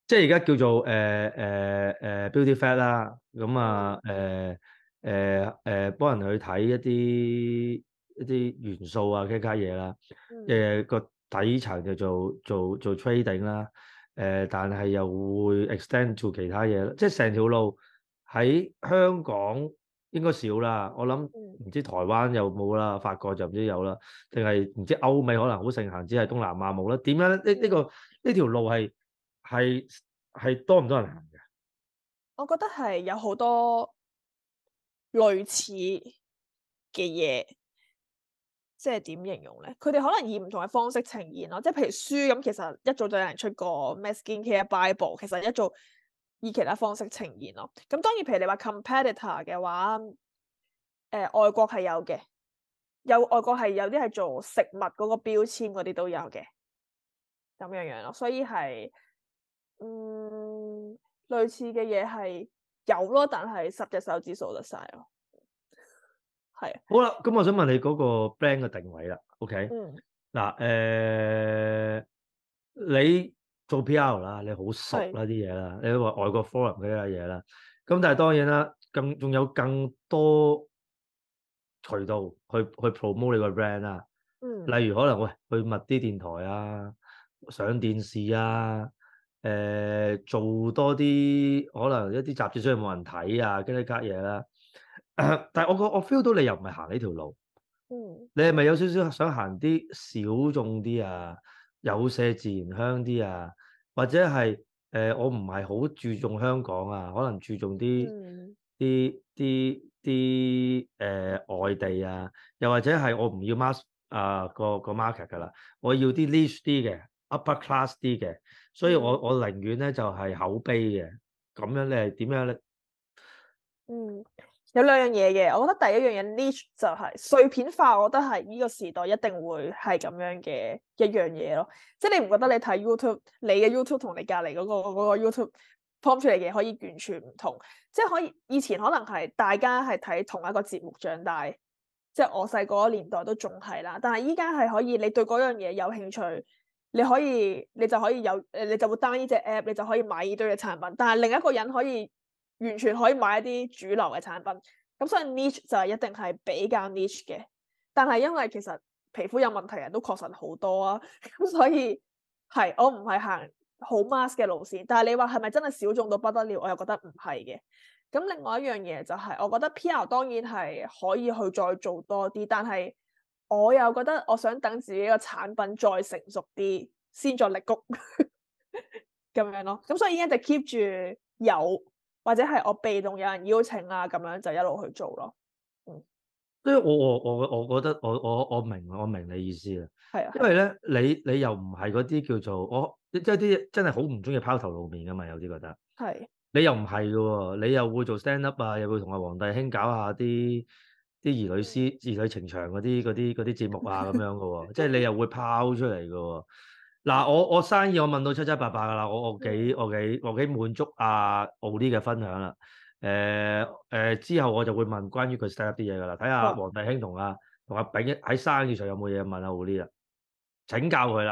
即係而家叫做誒誒誒 Beauty Fat 啦，咁啊誒誒誒幫人去睇一啲一啲元素啊，其他嘢啦，誒個、嗯呃、底層就做做做 trading 啦，誒、呃、但係又會 extend 做其他嘢啦，即係成條路喺香港應該少啦，我諗唔知台灣有冇啦，法國就唔知有啦，定係唔知歐美可能好盛行，只係東南亞冇啦。點樣咧？呢、這、呢個呢條路係係係多唔多人行嘅？ 我覺得係有好多類似嘅嘢，即係點形容咧？佢哋可能以唔同嘅方式呈現咯，即係譬如書咁，其實一早就有人出過咩 Skincare Bible，其實一早以其他方式呈現咯。咁當然，譬如你話 competitor 嘅話，誒、呃、外國係有嘅，有外國係有啲係做食物嗰個標籤嗰啲都有嘅，咁樣樣咯。所以係嗯類似嘅嘢係有咯，但係十隻手指數得晒咯。係。 好啦，咁我想問你嗰個 brand 嘅定位啦。OK。 嗯。 嗱，誒、呃，你做 P R 啦，你好熟啦啲嘢啦，你都話外國 forum 嗰啲嘢啦。咁但係當然啦，更仲有更多渠道去去 promote 你個 brand 啦。 嗯。 例如可能喂去密啲電台啊，上電視啊，誒、呃、做多啲可能一啲雜誌雖然冇人睇啊，跟啲家嘢啦。但係我個我 feel 到你又唔係行呢條路。 嗯。 你係咪有少少想行啲小眾啲啊，有些自然香啲啊，或者係誒、呃、我唔係好注重香港啊，可能注重啲啲啲啲誒外地啊，又或者係我唔要 mass 啊、呃、個個 market 㗎啦，我要啲 niche 啲嘅 upper class 啲嘅，所以我、嗯、我寧願咧就係、是、口碑嘅，咁樣你係點樣咧？ 嗯。有兩樣嘢嘅，我覺得第一樣嘢 niche 就係碎片化，我覺得係呢個時代一定會係咁樣嘅一樣嘢咯。即係你唔覺得你睇 YouTube，你嘅 YouTube 同你隔離嗰個嗰個 YouTube form 出嚟嘅可以完全唔同。即係可以以前可能係大家係睇同一個節目長大，即係我細個嗰年代都仲係啦。但係依家係可以，你對嗰樣嘢有興趣，你可以你就可以有誒，你就會 down 呢隻 app，你就可以買呢堆嘅產品。但係另一個人可以完全可以買一啲主流嘅產品，咁所以 niche 就係一定係比較 niche 嘅。但係因為其實皮膚有問題人都確實好多啊，咁所以係我唔係行好 mass 嘅路線。但係你話係咪真係小眾到不得了？我又覺得唔係嘅。咁另外一樣嘢就係，我覺得 P R 當然係可以去再做多啲，但係我又覺得我想等自己個產品再成熟啲，先再力谷咁樣咯。咁所以依家就 keep 住有。或者係我被動有人邀請啊，咁樣就一路去做咯。嗯， 所以我我我我覺得我我我明我明你意思啦。 係啊， 因為咧你你又唔係嗰啲叫做我即係啲真係好唔中意拋頭露面噶嘛，有啲覺得係。 你又唔係嘅喎，你又會做 stand up 啊，又會同阿黃帝兄搞下啲啲兒女師兒女情長嗰啲嗰啲嗰啲節目啊咁樣嘅喎，即係你又會拋出嚟嘅喎。嗱，我我生意我問到七七八八噶啦，我我幾我幾我幾滿足阿奧啲嘅分享啦。誒、呃、誒、呃、之後我就會問關於佢 stand up 啲嘢噶啦，睇下黃帝兄同阿同阿炳喺生意上有冇嘢問阿奧啲啦，請教佢啦。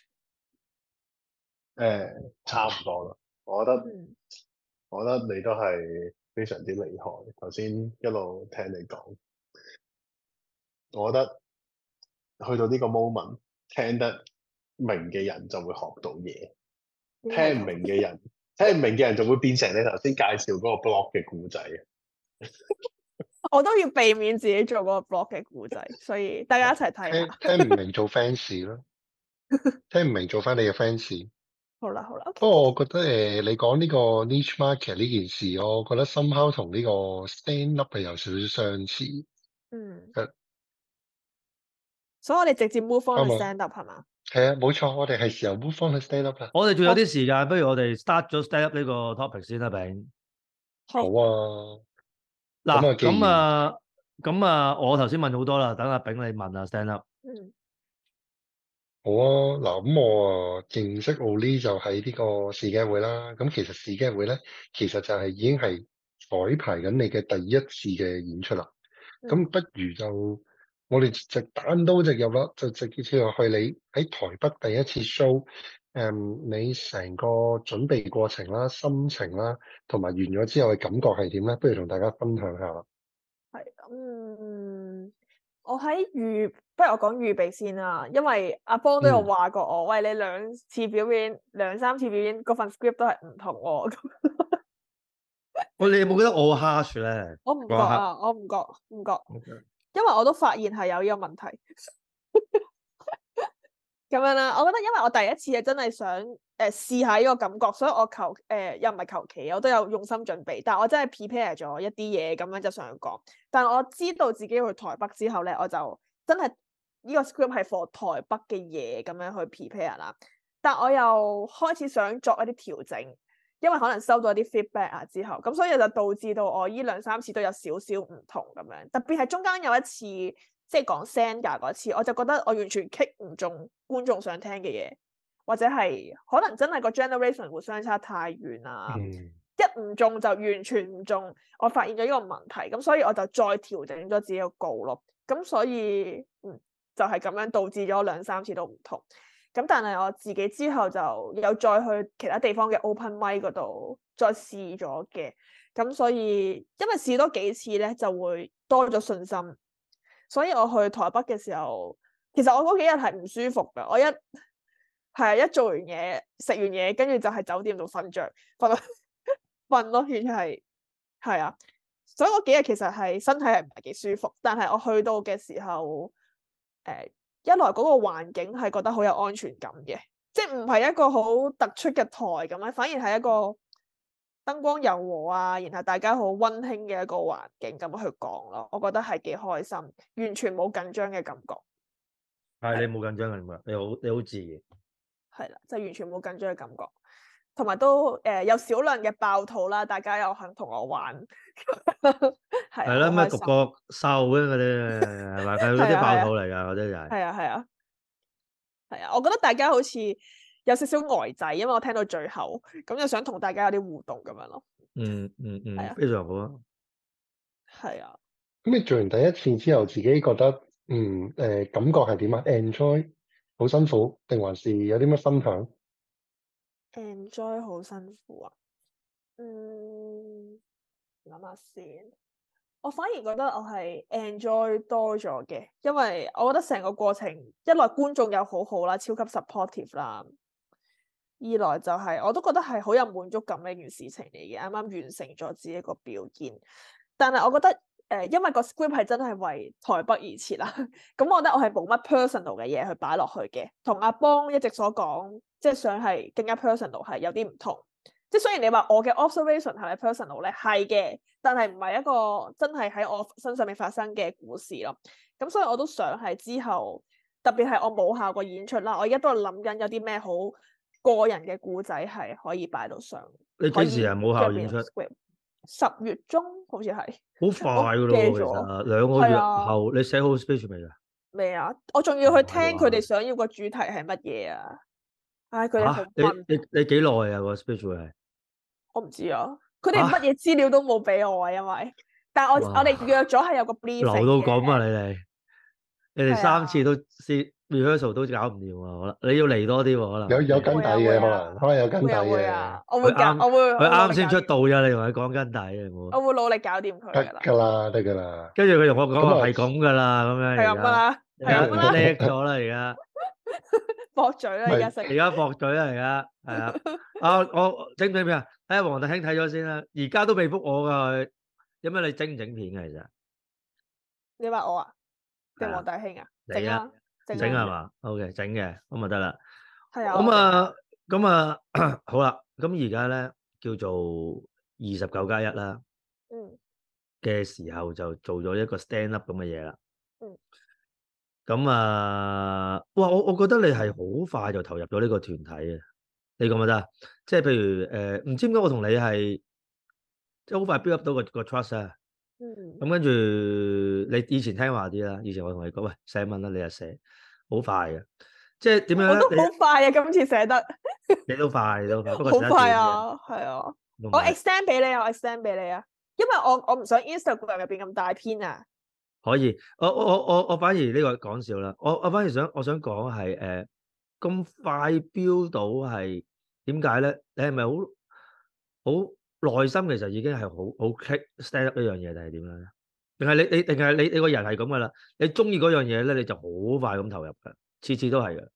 誒、呃，差唔多啦，我覺得、嗯、我覺得你都係非常之厲害。頭先一路聽你講，我覺得去到呢個 moment 聽得明嘅人就會學到嘢，聽唔明嘅人，聽唔明嘅人就會變成你頭先介紹嗰個 blog 嘅故仔。 我都要避免自己做嗰個 blog 嘅故仔，所以大家一齊睇下。 聽聽唔明做 fans 咯，聽唔明做翻你嘅 fans。 好啦好啦。 不過我覺得誒、呃，你講呢個 niche market 呢件事，我覺得 somehow 同呢個 stand up 係有少少相似。 嗯。 係。 所以我哋直接 move on 去 stand up 係嘛？ 係啊，冇錯，我哋係時候 move on 去 stand up 啦。 我哋仲有啲時間，不如我哋 start 咗 stand up 呢個 topic 先啦，炳。 好啊。 嗱，咁啊，咁啊，我頭先問好多啦，等阿炳你問啊 stand up。 嗯。 好啊，嗱，咁我啊認識奧利就喺呢個視鏡會啦。咁其實視鏡會咧，其實就係已經係彩排緊你嘅第一次嘅演出啦。咁、嗯、不如就我哋直單刀直入啦，就直接跳落去你喺台北第一次 show，誒、 誒，你成個準備過程啦、心情啦，同埋完咗之後嘅感覺係點咧？不如同大家分享下。 係，嗯，我喺預，不如我講預備先啦，因為阿邦都有話過我，嗯、喂，你兩次表演、兩三次表演，嗰份 script 都係唔同喎。 我你有冇覺得我 harsh 咧？ 我唔覺啊，我唔覺，唔覺，Okay. 因為我都發現係有呢個問題。咁樣啦，我覺得因為我第一次係真係想誒、呃、試下呢個感覺，所以我求誒、呃、又唔係求其，我都有用心準備，但係我真係 prepare 咗一啲嘢咁樣就上去講。但係我知道自己去台北之後咧，我就真係呢、這個 script 係 for 台北嘅嘢咁樣去 prepare 啦。但我又開始想作一啲調整，因為可能收到一啲 feedback 啊之後，咁所以就導致到我呢兩三次都有少少唔同咁樣，特別係中間有一次。即係講 Sandra 嗰次，我就覺得我完全 kick 唔中觀眾想聽嘅嘢，或者係可能真係個 generation 會相差太遠啦，嗯、一唔中就完全唔中。我發現咗呢個問題，咁所以我就再調整咗自己個稿咯。咁所以嗯就係、是、咁樣導致咗兩三次都唔同。咁但係我自己之後就有再去其他地方嘅 open mic 嗰度再試咗嘅。咁所以因為試多幾次咧，就會多咗信心。所以我去台北嘅時候，其實我嗰幾日係唔舒服噶。我一係啊，一做完嘢，食完嘢，跟住就喺酒店度瞓着，瞓瞓咯，完全係係啊。所以嗰幾日其實係身體係唔係幾舒服。但係我去到嘅時候，誒、呃，一來嗰個環境係覺得好有安全感嘅，即係唔係一個好突出嘅台咁樣，反而係一個燈光柔和啊，然後大家好溫馨嘅一個環境咁去講咯，我覺得係幾開心，完全冇緊張嘅感覺。 係你冇緊張嘅嘛？你好你好自然。 係啦，就完全冇緊張嘅感覺，同埋都誒、呃、有少量嘅爆肚啦，大家又肯同我玩。係係啦，咩獨角獸嗰啲係咪？係嗰啲爆肚嚟㗎，嗰啲就係。 係啊係啊係啊，我覺得大家好似有少少呆滯，因為我聽到最後，咁就想同大家有啲互動咁樣咯。 嗯嗯嗯， 係啊， 非常好啊。 係啊。 咁你做完第一次之後，自己覺得嗯誒、呃、感覺係點啊 ？Enjoy 好辛苦，定還是有啲咩分享 ？Enjoy 好辛苦啊。嗯，諗下先。我反而覺得我係 enjoy 多咗嘅，因為我覺得成個過程，一來觀眾又好好啦，超級 supportive 啦；二來就係、是、我都覺得係好有滿足感嘅一件事情嚟嘅，啱啱完成咗自己一個表演。但係我覺得誒、呃，因為個 script 係真係為台北而設啦，咁我覺得我係冇乜 personal 嘅嘢去擺落去嘅，同阿邦一直所講，即係想係更加 personal 係有啲唔同。即係雖然你話我嘅 observation 係咪 personal 咧，係嘅，但係唔係一個真係喺我身上面發生嘅故事咯。咁所以我都想係之後，特別係我冇效過演出啦，我而家都係諗緊有啲咩好個人嘅故仔係可以擺到上。 你幾時啊？冇效演出？ 十月中好似係。 好快噶咯，其實兩個月後，你寫好 speech 未啊？ 未啊！我仲要去聽佢哋想要個主題係乜嘢啊！唉，佢哋好問。 你你你幾耐啊？個 speech 會係？ 我唔知啊，佢哋乜嘢資料都冇俾我啊，因為，但係我我哋約咗係有個 briefing 留到咁啊！你哋，你哋三次都先 rehearsal 都搞唔掂啊！可能你要嚟多啲喎，可能有有跟底嘅，可能可能有跟底嘅。 我會搞，我會佢啱先出道咋，你同佢講跟底啊！ 我會努力搞掂佢。 得㗎啦，得㗎啦。 跟住佢同我講話係咁㗎啦，咁樣。 係咁㗎啦，係咁啦。 叻咗啦，而家。 駁嘴啦，而家食。 而家駁嘴啦，而家係啊！啊，我整唔整片啊？睇下黃大興睇咗先啦。而家都未覆我㗎，有咩你整唔整片㗎？其實你話我啊，定黃大興啊？整啊， 整係嘛？OK，整嘅咁咪得啦。 係啊。 咁啊，咁啊，好啦。咁而家咧叫做二十九加一啦。 嗯。嘅時候就做咗一個 stand up 咁嘅嘢啦。 嗯。 咁啊，哇！我我覺得你係好快就投入咗呢個團體嘅，你覺唔覺得啊？即係譬如誒，唔、呃、知點解我同你係即係好快 build up 到個個 trust 啊。 嗯。 咁跟住你以前聽話啲啦，以前我同你講，喂，寫文啦，你就寫，好快嘅。即係點樣咧？ 我都好快啊！今次寫得。 你都快，你都快，不過好快啊，係啊。我 extend 俾你啊，我 extend 俾你啊，因為我我唔想 Instagram 入邊咁大篇啊。 可以，我我我我我反而呢個講笑啦，我我反而想我想講係誒， 咁快飆到係點解咧？你係咪好好內心其實已經係好好 click stand up 呢樣嘢，定係點樣咧？定係你你定係你你個人係咁噶啦？你中意嗰樣嘢咧，你就好快咁投入嘅，次次都係嘅。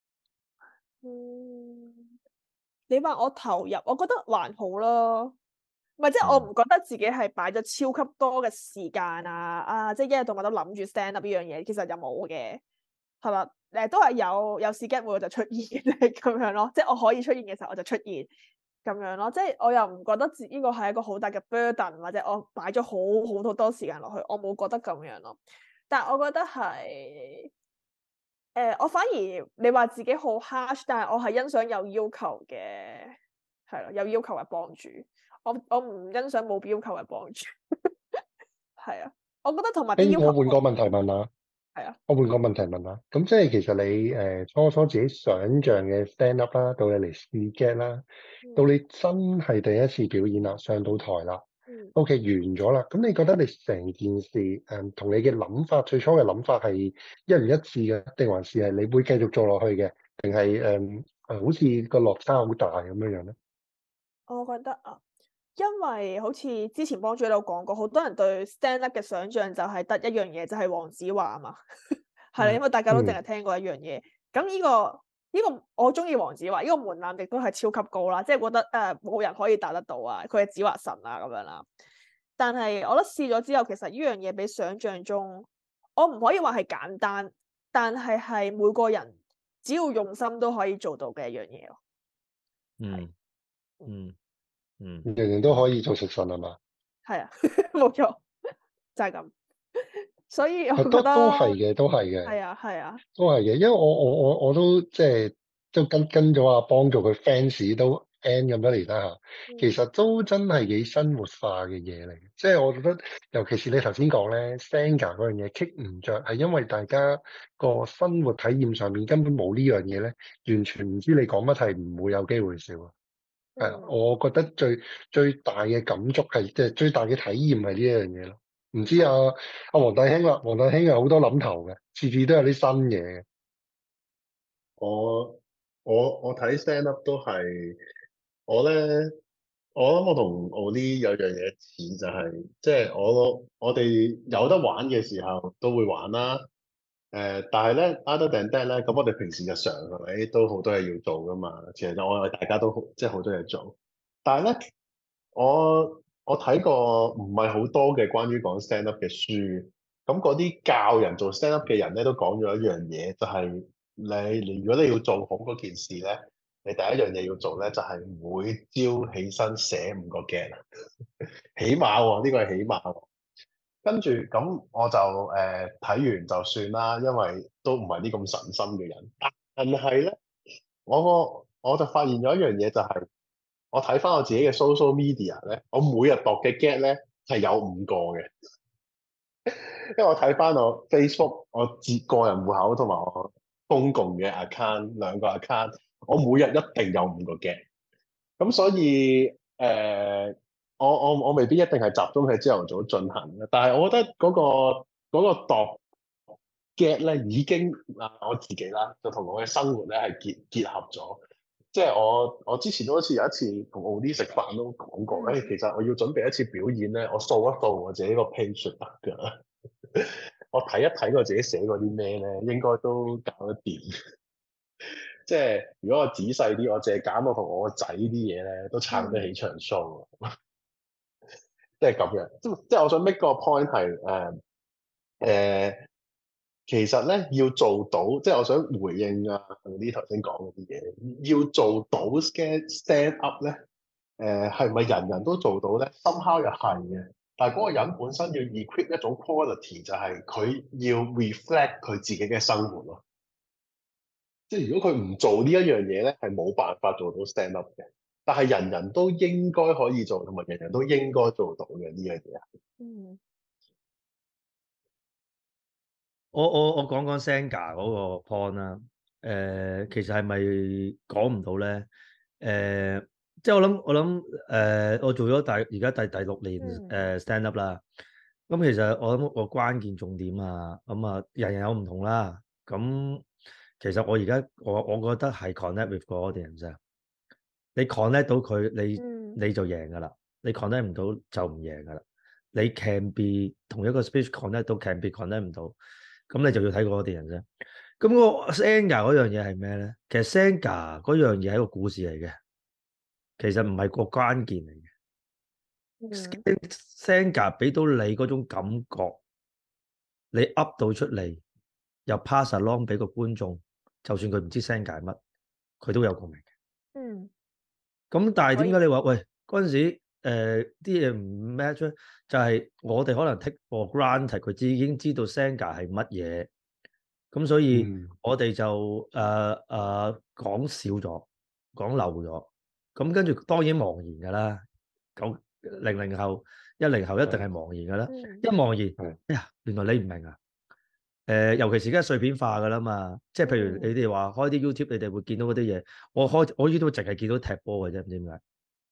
嗯，你話我投入，我覺得還好咯。唔係，即係我唔覺得自己係擺咗超級多嘅時間啊！啊，即係一日到晚都諗住 stand up 呢樣嘢，其實就冇嘅，係嘛？誒，都係有有時間會我就出現嘅咁樣咯。即係我可以出現嘅時候我就出現咁樣咯。即係我又唔覺得自呢個係一個好大嘅 burden，或者我擺咗好好多多時間落去，我冇覺得咁樣咯。但係我覺得係。誒、呃，我反而你話自己好 harsh，但係我係欣賞有要求嘅，係咯，有要求嘅幫主。我我唔欣賞冇要求嘅幫主。係啊，我覺得同埋啲要求。 誒，我換個問題問下。 係啊。 我換個問題問下。咁即係其實你誒、呃、初初自己想像嘅 stand up 啦，到你嚟試 get 啦， 嗯、 到你真係第一次表演啦，上到台啦。 嗯、 O.K. 完咗啦，咁你覺得你成件事誒同、嗯、你嘅諗法，最初嘅諗法係一唔一致嘅，定還是係你會繼續做落去嘅，定係誒誒好似個落差好大咁樣樣咧？ 我覺得啊，因為好似之前幫主喺度講過，好多人對 stand up 嘅想像就係得一樣嘢，就係、是、黃子華啊嘛，係啦、嗯，因為大家都淨係聽過一樣嘢。咁呢、嗯這個呢、這個我中意黃子華，呢、這個門檻亦都係超級高啦，即係覺得誒冇、呃、人可以達得到啊，佢係子華神啊咁樣啦。但係我覺得試咗之後，其實呢樣嘢比想像中，我唔可以話係簡單，但係係每個人只要用心都可以做到嘅一樣嘢咯。 嗯嗯嗯， 人人都可以做食神係嘛？ 係啊，冇錯，就係、是、咁。所以我覺得都都係嘅，都係嘅。 係啊，係啊， 都係嘅，因為我我我我都即係都跟跟咗阿幫做佢 fans 都 N 咁多年啦嚇，其實都真係幾生活化嘅嘢嚟嘅。即係我覺得，尤其是你頭先講咧 Xanga 嗰樣嘢 kick 唔着，係因為大家個生活體驗上面根本冇呢樣嘢咧，完全唔知你講乜係唔會有機會笑啊。係啊，我覺得最最大嘅感觸係即係最大嘅體驗係呢一樣嘢咯。唔知啊，阿黃大興啦，黃大興有好多諗頭嘅，次次都有啲新嘢嘅。 我我我睇 stand up 都係我咧，我諗我同 Oli 有樣嘢似就係，即係我我哋有得玩嘅時候都會玩啦。誒，但係咧 other than that 咧，咁我哋平時日常係咪都好多嘢要做噶嘛？其實我哋大家都好即係好多嘢做，但係咧我我睇過唔係好多嘅關於講 stand up 嘅書，咁嗰啲教人做 stand up 嘅人咧都講咗一樣嘢，就係你你如果你要做好嗰件事咧，你第一樣嘢要做咧就係每朝起身寫五個 get，起碼喎，呢個係起碼喎。跟住咁我就誒睇完就算啦，因為都唔係啲咁神心嘅人。但係咧，我個我就發現咗一樣嘢，就係我睇翻我自己嘅 social media 咧，我每日度嘅 get 咧係有五個嘅。因為我睇翻我 Facebook 我自個人戶口同埋我公共嘅 account 兩個 account，我每日一定有五個 get。咁所以誒。呃我我我未必一定係集中喺朝頭早進行嘅，但係我覺得嗰、嗰個嗰、嗰個度 get 咧已經啊我自己啦，就同我嘅生活咧係結結合咗。即係我我之前都好似有一次同 Oli 食飯都講過，誒、欸、其實我要準備一次表演咧，我掃一掃我自己個 page 得㗎。我睇一睇我自己寫過啲咩咧，應該都搞得掂。即係如果我仔細啲，我淨係揀我同我個仔啲嘢咧，都撐得起場 show。即係咁樣，即即係我想 make 個 point 係誒誒，其實咧要做到，即係我想回應啊呢頭先講嗰啲嘢，要做到 stand stand up 咧，誒係咪人人都做到咧？somehow 又係嘅，但係嗰個人本身要 equip 一種 quality，就係佢要 reflect 佢自己嘅生活咯。即係如果佢唔做呢一樣嘢咧，係冇辦法做到 stand up 嘅。但係人人都應該可以做，同埋人人都應該做到嘅呢樣嘢。 嗯， 我我我講講 Xanga 嗰個 point 啦。誒、呃，其實係咪講唔到咧？誒、呃，即係我諗我諗誒、呃，我做咗大而家第第六年誒、呃、stand up 啦。咁、嗯、其實我諗個關鍵重點啊，咁、嗯、啊人人有唔同啦。咁其實我而家我我覺得係 connect with 個 audience 啊，你 connect 到佢，你、嗯、你就贏噶啦，你 connect 唔到就唔贏噶啦。你 can be 同一個 speech connect 到 can be connect 唔到，咁你就要睇個 audience 啫。咁個 Xanga 嗰樣嘢係咩咧？其實 Xanga 嗰樣嘢係一個故事嚟嘅，其實唔係個關鍵嚟嘅。嗯、Xanga 俾到你嗰種感覺，你 up 到出嚟，又 pass along 俾個觀眾，就算佢唔知 Xanga 係乜，佢都有共鳴嘅。嗯。咁但係點解你話喂嗰陣時誒啲嘢唔 match 咧？就係、是、我哋可能 take for granted 佢已經知道 Xanga 係乜嘢。咁所以我哋就誒誒、呃呃、講少咗，講漏咗，咁跟住當然茫然㗎啦。九零零後、一零後一定係茫然㗎啦。嗯、一茫然，哎呀，原來你唔明啊！誒、呃，尤其是而家碎片化㗎啦嘛，即係譬如你哋話開啲 YouTube，你哋會見到嗰啲嘢。我開我 YouTube 淨係見到踢波嘅啫，唔知點解。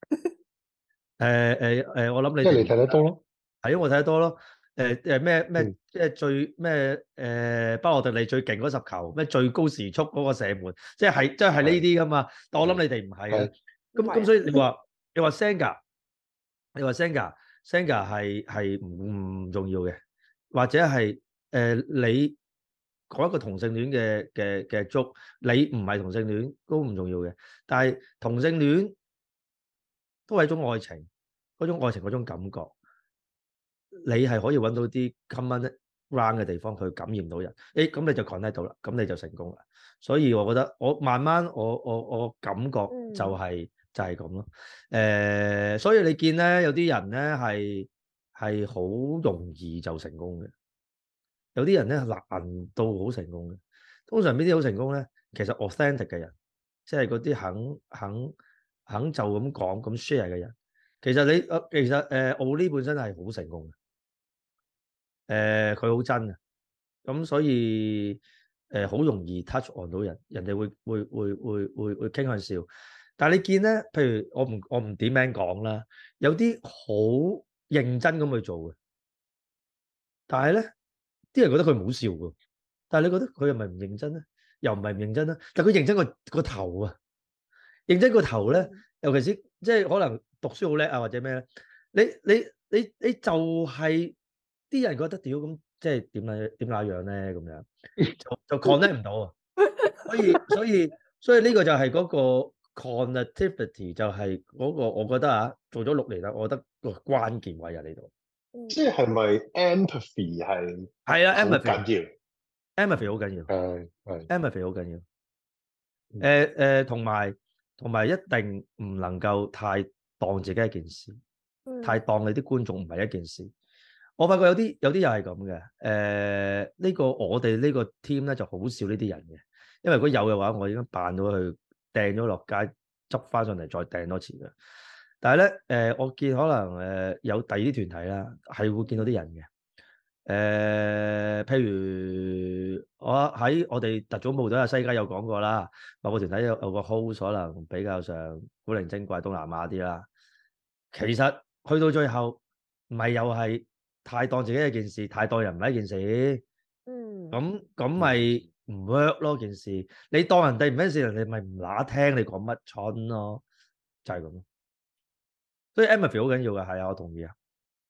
誒誒誒，我諗你即係你睇得多咯， 係因為我睇得多咯。誒誒咩咩即係最咩誒巴洛特利最勁嗰十球咩最高時速嗰個射門，即係即係係呢啲噶嘛。的但我諗你哋唔係啊。咁咁所以你話你話 Xanga， 你話 Xanga Xanga 係係唔唔重要嘅，或者係誒、呃、你講一個同性戀嘅嘅嘅 joke，你唔係同性戀都唔重要嘅。但係同性戀都係一種愛情，嗰種愛情嗰種感覺。你係可以揾到啲 common ground 嘅地方去感染到人，誒咁你就 connect 到啦，咁你就成功啦。所以我覺得我慢慢我我我感覺就係、是嗯、就係咁咯。誒、呃，所以你見咧有啲人咧係係好容易就成功嘅，有啲人咧難到好成功嘅。通常邊啲好成功咧？其實 authentic 嘅人，即係嗰啲肯肯肯就咁講咁 share 嘅人。其實你誒其實誒奧利本身係好成功嘅，誒佢好真啊，咁所以誒好、呃、容易 touch on 到人，人哋會會會會會會傾向笑。但係你見咧，譬如我唔我唔點名講啦，有啲好認真咁去做嘅，但係咧啲人覺得佢唔好笑㗎，但係你覺得佢係咪唔認真咧？又唔係唔認真啦，但係佢認真個個頭啊，認真個頭咧，尤其是即係可能讀書好叻啊或者咩咧？你你你你就係、是、啲人覺得屌咁，即係點樣點那樣咧咁樣，就就 connect 唔到啊！所以所以所以呢個就係嗰個 connectivity，就係嗰個我覺得啊，做咗六年啦，我覺得個關鍵位喺呢度。 即係係咪 empathy 係係啊 ，empathy 緊要 ，empathy 好緊要， 係係 empathy 好緊要。誒誒，同埋同埋一定唔能夠太當自己一件事。太當你啲觀眾唔係一件事，我發覺有啲有啲又係咁嘅。誒、呃，呢、這個我哋呢個 team 咧就好少呢啲人嘅，因為如果有嘅話，我已經扮到佢掟咗落街，執翻上嚟再掟多次嘅。但係咧，誒、呃，我見可能誒、呃、有第二啲團體啦，係會見到啲人嘅。誒、呃，譬如我喺我哋特種部隊啊，西街有講過啦，某個團體有有個 host 可能比較上古靈精怪東南亞啲啦，其實。去到最後，咪又係太當自己一件事，太當人唔係一件事。嗯，咁咁咪唔 work 咯件事。你當人哋唔係一件事，人哋咪唔乸聽你講乜春咯，就係咁咯。所以 empathy 好緊要嘅，係啊，我同意啊。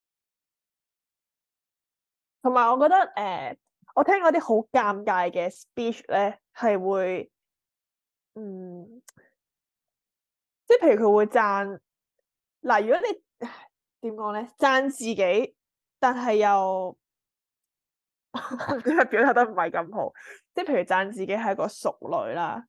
同埋我覺得誒、呃，我聽嗰啲好尷尬嘅 speech 咧，係會嗯，即係譬如佢會讚嗱，如果你點講咧？讚自己，但係又佢表達得唔係咁好。即係譬如讚自己係個淑女啦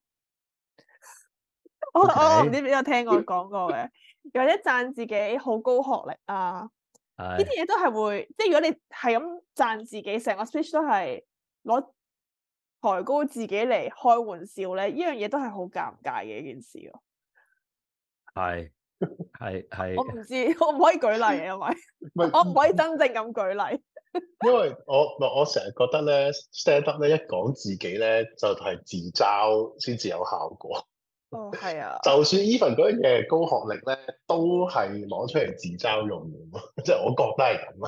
，Okay. 我我唔知邊有聽我講過嘅，又或者讚自己好高學歷啊，呢啲嘢都係會。即係如果你係咁讚自己，成個 speech 都係攞抬高自己嚟開玩笑咧，呢樣嘢都係好尷尬嘅一件事咯。 係。係係， 我唔知，我唔可以舉例，因為我唔可以真正咁舉例。 因為我我成日覺得咧 stand up 咧一講自己咧就係、是、自嘲先至有效果。 哦，係啊。就算 even 嗰樣嘢高學歷咧，都係攞出嚟自嘲用嘅，即係我覺得係咁啊。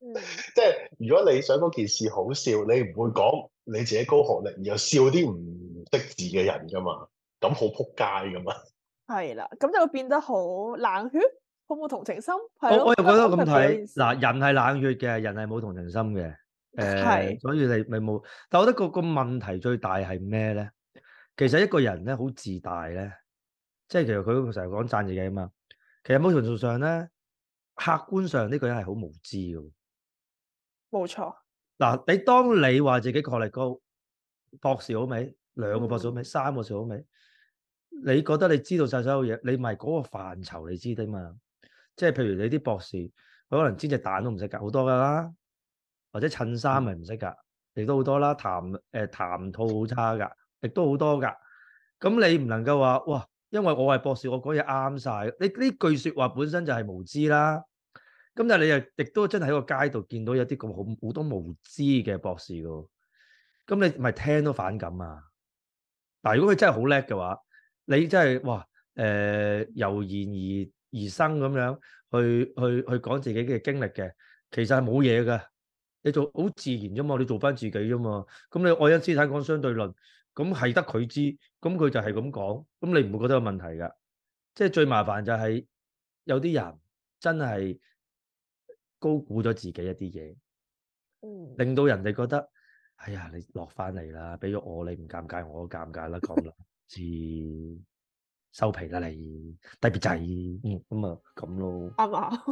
即係如果你想嗰件事好笑，你唔會講你自己高學歷，而又笑啲唔識字嘅人噶嘛，咁好撲街噶嘛。係啦，咁就會變得好冷血，好冇同情心。我我又覺得咁睇，嗱，人係冷血嘅，人係冇同情心嘅，誒、呃，所以你你冇。但我覺得個個問題最大係咩咧？其實一個人咧好自大咧，即係其實佢成日講讚自己啊嘛。其實某程度上咧，客觀上呢個人係好無知嘅。 冇錯。嗱， 你當你話自己學歷高，博士好未？兩個博士好未？嗯、三個博士好未？你覺得你知道晒所有嘢，你咪嗰個範疇你知啲嘛？即係譬如你啲博士，佢可能煎隻蛋都唔識㗎，好多㗎啦。或者襯衫咪唔識㗎，亦都好多啦。談誒、呃、談吐好差㗎，亦都好多㗎。咁你唔能夠話哇，因為我係博士，我講嘢啱晒。你呢句説話本身就係無知啦。咁但係你又亦都真係喺個街度見到有啲咁好好多無知嘅博士㗎，咁你咪聽都反感啊！但如果佢真係好叻嘅話，你真係哇誒由言而而生咁樣去去去講自己嘅經歷嘅，其實係冇嘢㗎。你做好自然啫嘛，你做翻自己啫嘛。咁你愛因斯坦講相對論，咁係得佢知，咁佢就係咁講，咁你唔會覺得有問題㗎。即係最麻煩就係有啲人真係高估咗自己一啲嘢，嗯，令到人哋覺得，哎呀，你落翻嚟啦，俾咗我，你唔尷尬，我都尷尬啦，咁啦，知收皮啦你，低 B 仔，嗯，咁啊，咁咯， 啱嘛，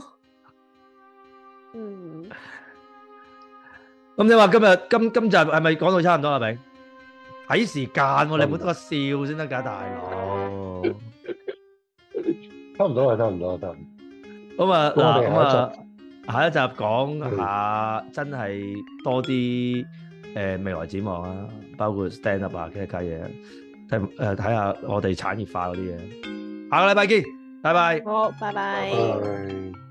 嗯， 咁你話今日今今集係咪講到差唔多啊？咪睇時間喎，你冇得個笑先得㗎，大佬， 差唔多啊，差唔多，得。 咁啊，嗱，咁啊。下一集講下真係多啲誒、呃、未來展望啊，包括 stand up 啊，其他嘢，睇誒睇下我哋產業化嗰啲嘢。下個禮拜見，拜拜。 好，拜拜。 拜拜。